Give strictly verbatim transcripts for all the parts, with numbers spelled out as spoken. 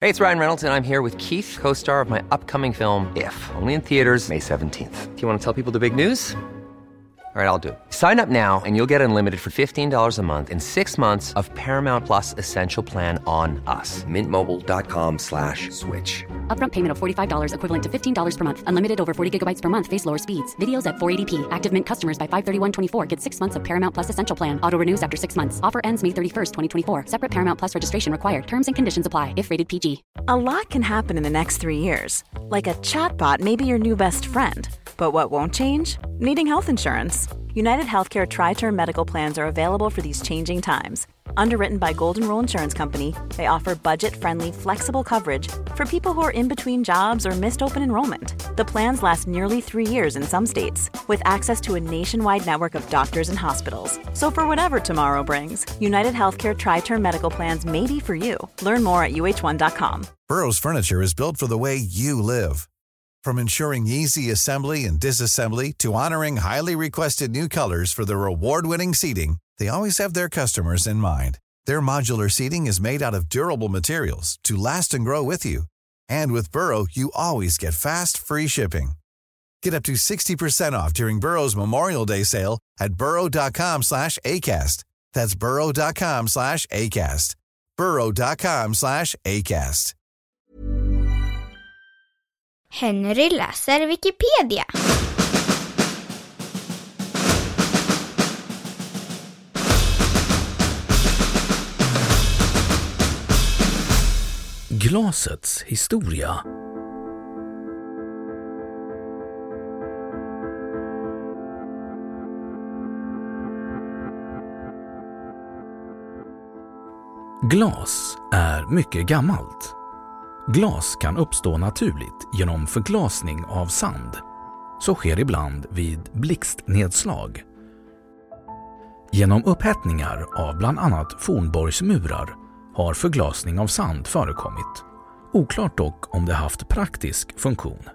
Hey, it's Ryan Reynolds, and I'm here with Keith, co-star of my upcoming film, If, only in theaters May seventeenth. Do you want to tell people the big news? All right, I'll do it. Sign up now and you'll get unlimited for fifteen dollars a month and six months of Paramount Plus Essential Plan on us. Mint Mobile dot com slash switch. Upfront payment of forty-five dollars equivalent to fifteen dollars per month. Unlimited over forty gigabytes per month. Face lower speeds. Videos at four eighty p. Active Mint customers by five thirty-one twenty-four get six months of Paramount Plus Essential Plan. Auto renews after six months. Offer ends May thirty-first, twenty twenty-four. Separate Paramount Plus registration required. Terms and conditions apply if rated P G. A lot can happen in the next three years. Like a chatbot may be your new best friend. But what won't change? Needing health insurance. United Healthcare Tri-Term Medical Plans are available for these changing times. Underwritten by Golden Rule Insurance Company, they offer budget-friendly, flexible coverage for people who are in between jobs or missed open enrollment. The plans last nearly three years in some states, with access to a nationwide network of doctors and hospitals. So for whatever tomorrow brings, United Healthcare Tri-Term Medical Plans may be for you. Learn more at U H one dot com. Burrow's furniture is built for the way you live. From ensuring easy assembly and disassembly to honoring highly requested new colors for their award-winning seating, they always have their customers in mind. Their modular seating is made out of durable materials to last and grow with you. And with Burrow, you always get fast, free shipping. Get up to sixty percent off during Burrow's Memorial Day sale at burrow dot com slash ACAST. That's burrow dot com slash ACAST. burrow dot com slash ACAST. Henry läser Wikipedia. Glasets historia. Glas är mycket gammalt. Glas kan uppstå naturligt genom förglasning av sand. Så sker ibland vid blixtnedslag. Genom upphettningar av bland annat fornborgsmurar har förglasning av sand förekommit. Oklart dock om det haft praktisk funktion.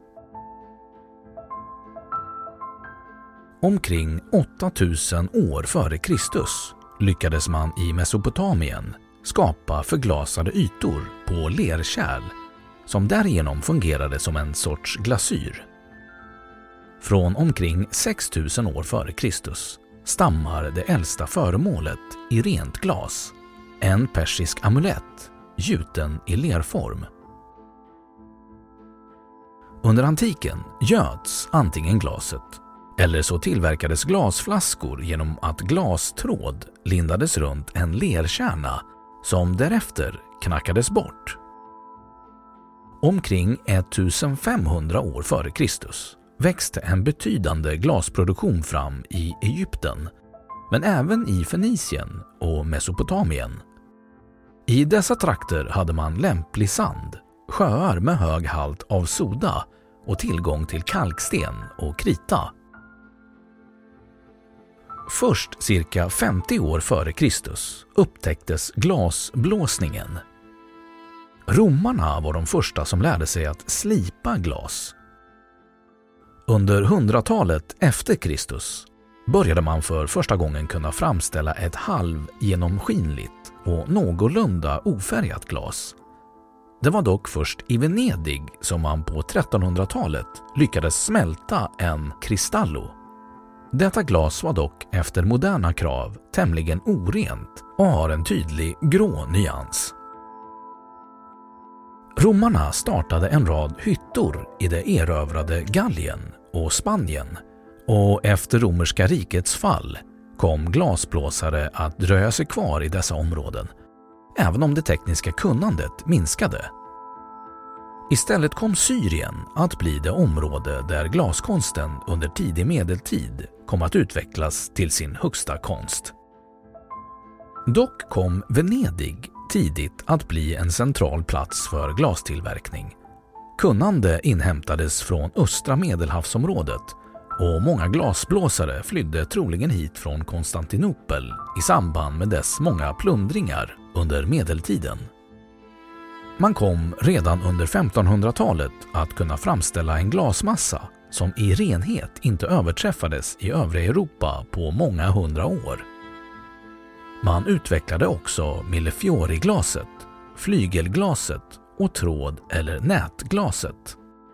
Omkring åtta tusen år före Kristus lyckades man i Mesopotamien skapa förglasade ytor på lerkärl som därigenom fungerade som en sorts glasyr. Från omkring sex tusen år före Kristus stammar det äldsta föremålet i rent glas, en persisk amulett gjuten i lerform. Under antiken göts antingen glaset eller så tillverkades glasflaskor genom att glastråd lindades runt en lerkärna som därefter knackades bort. Omkring femtonhundra år före Kristus växte en betydande glasproduktion fram i Egypten, men även i Fenicien och Mesopotamien. I dessa trakter hade man lämplig sand, sjöar med hög halt av soda och tillgång till kalksten och krita. Först cirka femtio år före Kristus upptäcktes glasblåsningen. Romarna var de första som lärde sig att slipa glas. Under hundratalet efter Kristus började man för första gången kunna framställa ett halvgenomskinligt och någorlunda ofärgat glas. Det var dock först i Venedig som man på trettonhundratalet lyckades smälta en cristallo. Detta glas var dock efter moderna krav tämligen orent och har en tydlig grå nyans. Romarna startade en rad hyttor i det erövrade Gallien och Spanien, och efter romerska rikets fall kom glasblåsare att dröja sig kvar i dessa områden, även om det tekniska kunnandet minskade. Istället kom Syrien att bli det område där glaskonsten under tidig medeltid kom att utvecklas till sin högsta konst. Dock kom Venedig tidigt att bli en central plats för glastillverkning. Kunnande inhämtades från östra Medelhavsområdet och många glasblåsare flydde troligen hit från Konstantinopel i samband med dess många plundringar under medeltiden. Man kom redan under femtonhundratalet att kunna framställa en glasmassa som i renhet inte överträffades i övriga Europa på många hundra år. Man utvecklade också millefiori-glaset, flygelglaset och tråd- eller nätglaset.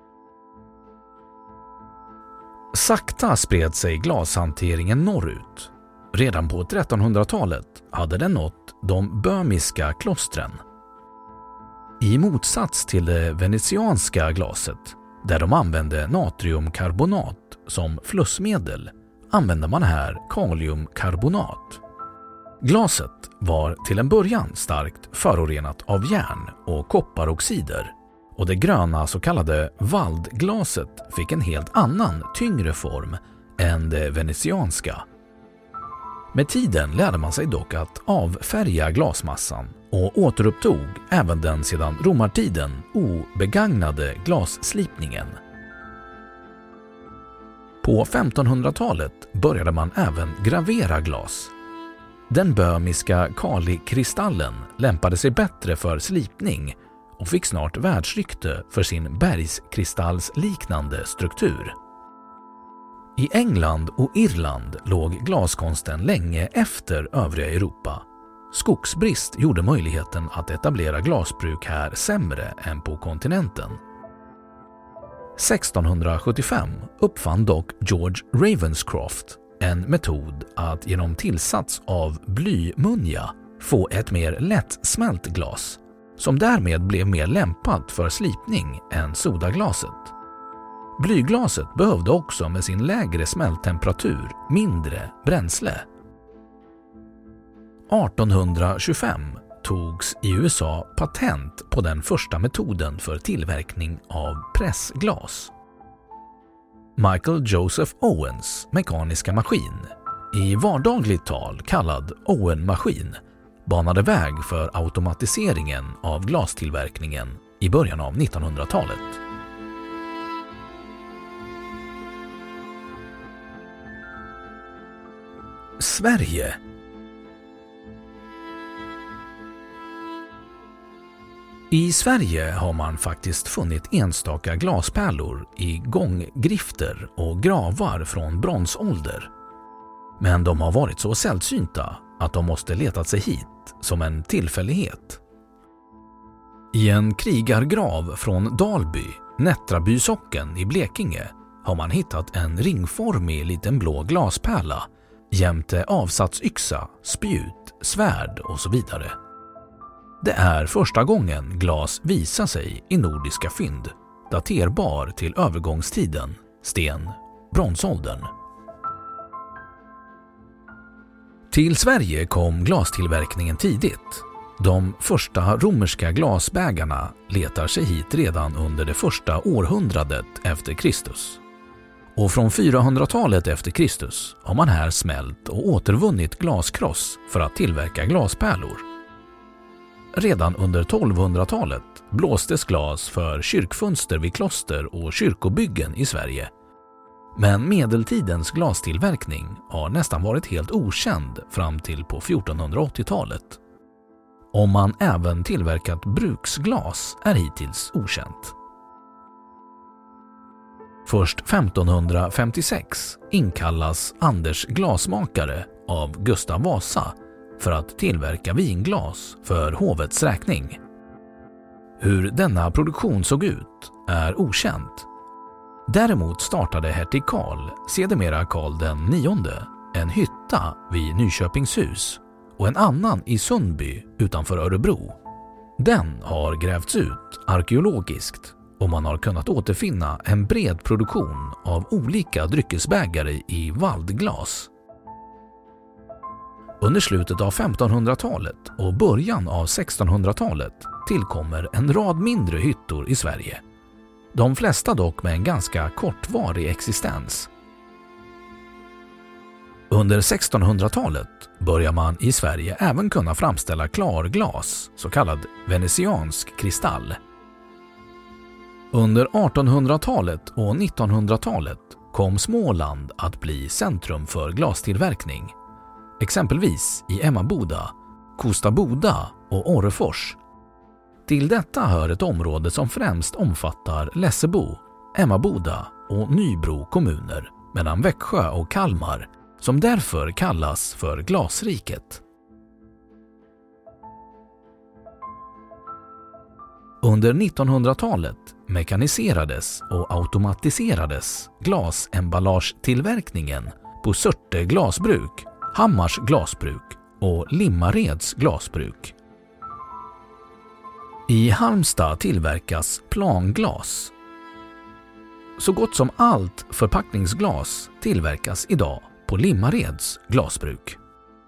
Sakta spred sig glashanteringen norrut. Redan på trettonhundratalet hade den nått de böhmiska klostren. I motsats till det venetianska glaset, där de använde natriumkarbonat som flussmedel, använde man här kaliumkarbonat. Glaset var till en början starkt förorenat av järn och kopparoxider, och det gröna så kallade valdglaset fick en helt annan, tyngre form än det venetianska. Med tiden lärde man sig dock att avfärga glasmassan och återupptog även den sedan romartiden obegagnade glasslipningen. På femtonhundratalet började man även gravera glas. Den böhmiska kalikristallen lämpade sig bättre för slipning och fick snart världsrykte för sin bergskristallsliknande struktur. I England och Irland låg glaskonsten länge efter övriga Europa. Skogsbrist gjorde möjligheten att etablera glasbruk här sämre än på kontinenten. sextonhundrasjuttiofem uppfann dock George Ravenscroft en metod att genom tillsats av blymunja få ett mer lättsmält glas, som därmed blev mer lämpat för slipning än sodaglaset. Blyglaset behövde också med sin lägre smälttemperatur mindre bränsle. artonhundratjugofem togs i U S A patent på den första metoden för tillverkning av pressglas. Michael Joseph Owens mekaniska maskin, i vardagligt tal kallad Owen-maskin, banade väg för automatiseringen av glastillverkningen i början av nittonhundratalet. Sverige. I Sverige har man faktiskt funnit enstaka glaspärlor i gånggrifter och gravar från bronsålder. Men de har varit så sällsynta att de måste letat sig hit som en tillfällighet. I en krigargrav från Dalby, Nättraby socken i Blekinge, har man hittat en ringformig liten blå glaspärla jämte avsatsyxa, spjut, svärd och så vidare. Det är första gången glas visar sig i nordiska fynd, daterbar till övergångstiden, sten, bronsåldern. Till Sverige kom glastillverkningen tidigt. De första romerska glasbägarna letar sig hit redan under det första århundradet efter Kristus. Och från fyrahundratalet efter Kristus har man här smält och återvunnit glaskross för att tillverka glaspärlor. Redan under tolvhundratalet blåstes glas för kyrkfönster vid kloster och kyrkobyggen i Sverige. Men medeltidens glastillverkning har nästan varit helt okänd fram till på fjortonhundraåttiotalet. Om man även tillverkat bruksglas är hittills okänt. Först femtonhundrafemtiosex inkallas Anders glasmakare av Gustav Vasa för att tillverka vinglas för hovets räkning. Hur denna produktion såg ut är okänt. Däremot startade hertig Karl, sedermera Karl den nionde, en hytta vid Nyköpingshus och en annan i Sundby utanför Örebro. Den har grävts ut arkeologiskt och man har kunnat återfinna en bred produktion av olika dryckesbägare i valdglas. Under slutet av femtonhundratalet och början av sextonhundratalet tillkommer en rad mindre hyttor i Sverige. De flesta dock med en ganska kortvarig existens. Under sextonhundratalet börjar man i Sverige även kunna framställa klarglas, så kallad venetiansk kristall. Under artonhundratalet och nittonhundratalet kom Småland att bli centrum för glastillverkning. Exempelvis i Emmaboda, Kosta Boda och Orrefors. Till detta hör ett område som främst omfattar Lessebo, Emmaboda och Nybro kommuner mellan Växjö och Kalmar, som därför kallas för Glasriket. Under nittonhundratalet mekaniserades och automatiserades glasemballagetillverkningen på Surte glasbruk, Hammars glasbruk och Limmareds glasbruk. I Halmstad tillverkas planglas. Så gott som allt förpackningsglas tillverkas idag på Limmareds glasbruk.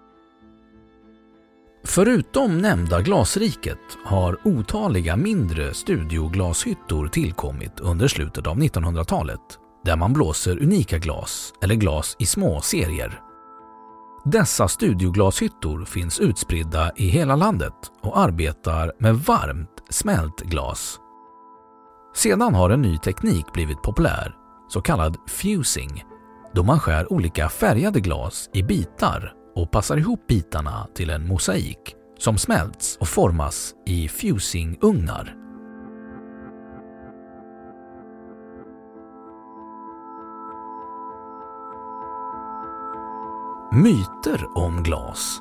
Förutom nämnda glasriket har otaliga mindre studioglashyttor tillkommit under slutet av nittonhundratalet där man blåser unika glas eller glas i små serier. Dessa studioglashyttor finns utspridda i hela landet och arbetar med varmt smält glas. Sedan har en ny teknik blivit populär, så kallad fusing, då man skär olika färgade glas i bitar och passar ihop bitarna till en mosaik som smälts och formas i fusingugnar. Myter om glas.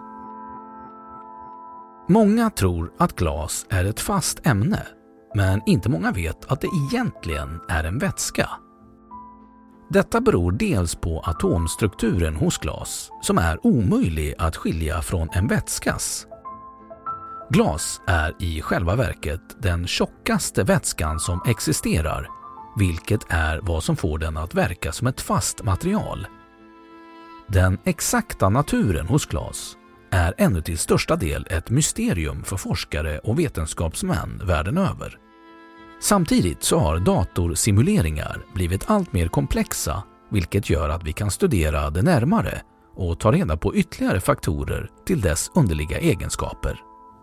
Många tror att glas är ett fast ämne, men inte många vet att det egentligen är en vätska. Detta beror dels på atomstrukturen hos glas som är omöjlig att skilja från en vätskas. Glas är i själva verket den tjockaste vätskan som existerar, vilket är vad som får den att verka som ett fast material. Den exakta naturen hos glas är ännu till största del ett mysterium för forskare och vetenskapsmän världen över. Samtidigt så har datorsimuleringar blivit allt mer komplexa, vilket gör att vi kan studera det närmare och ta reda på ytterligare faktorer till dess underliga egenskaper.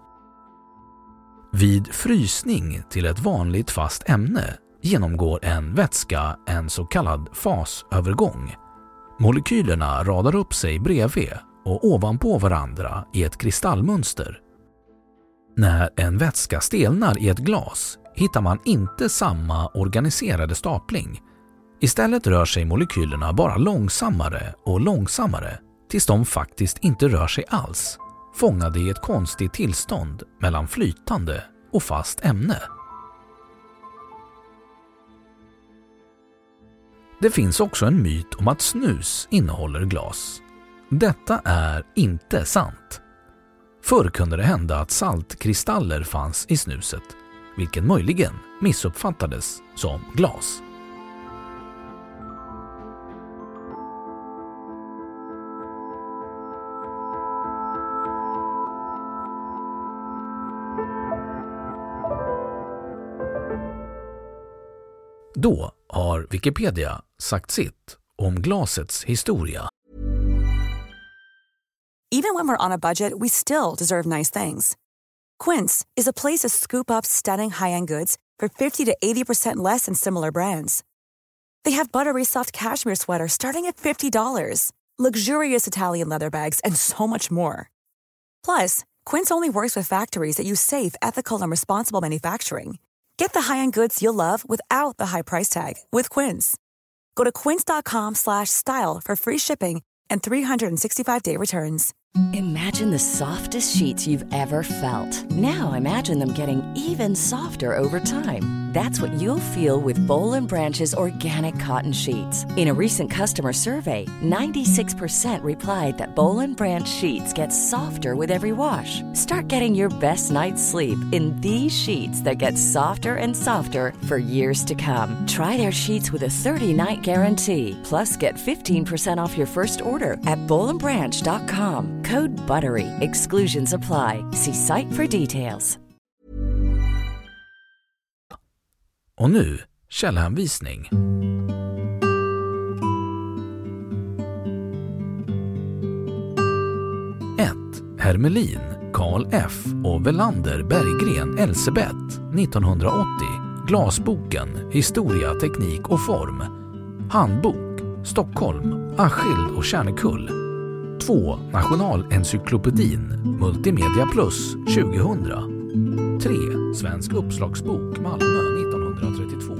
Vid frysning till ett vanligt fast ämne genomgår en vätska en så kallad fasövergång. Molekylerna radar upp sig bredvid och ovanpå varandra i ett kristallmönster. När en vätska stelnar i ett glas hittar man inte samma organiserade stapling. Istället rör sig molekylerna bara långsammare och långsammare tills de faktiskt inte rör sig alls, fångade i ett konstigt tillstånd mellan flytande och fast ämne. Det finns också en myt om att snus innehåller glas. Detta är inte sant. Förr kunde det hända att saltkristaller fanns i snuset, vilket möjligen missuppfattades som glas. Då har Wikipedia sagt sitt om glasets historia. Even when we're on a budget, we still deserve nice things. Quince is a place to scoop up stunning high-end goods for fifty to eighty percent less than similar brands. They have buttery soft cashmere sweaters starting at fifty dollars, luxurious Italian leather bags, and so much more. Plus, Quince only works with factories that use safe, ethical, and responsible manufacturing. Get the high-end goods you'll love without the high price tag with Quince. Go to quince.com slash style for free shipping and three sixty-five day returns. Imagine the softest sheets you've ever felt. Now imagine them getting even softer over time. That's what you'll feel with Boll and Branch's organic cotton sheets. In a recent customer survey, ninety-six percent replied that Boll and Branch sheets get softer with every wash. Start getting your best night's sleep in these sheets that get softer and softer for years to come. Try their sheets with a thirty night guarantee. Plus, get fifteen percent off your first order at boll and branch dot com. Code BUTTERY. Exclusions apply. See site for details. Och nu källhänvisning. ett. Hermelin, Carl F. och Velander Berggren Elsebeth, nittonhundraåttio. Glasboken, Historia, teknik och form. Handbok, Stockholm, Askild och Kärnekull. två. Nationalencyklopedin, Multimedia Plus, tjugohundra. tre. Svensk uppslagsbok, Malmö, nittonhundratrettiotvå.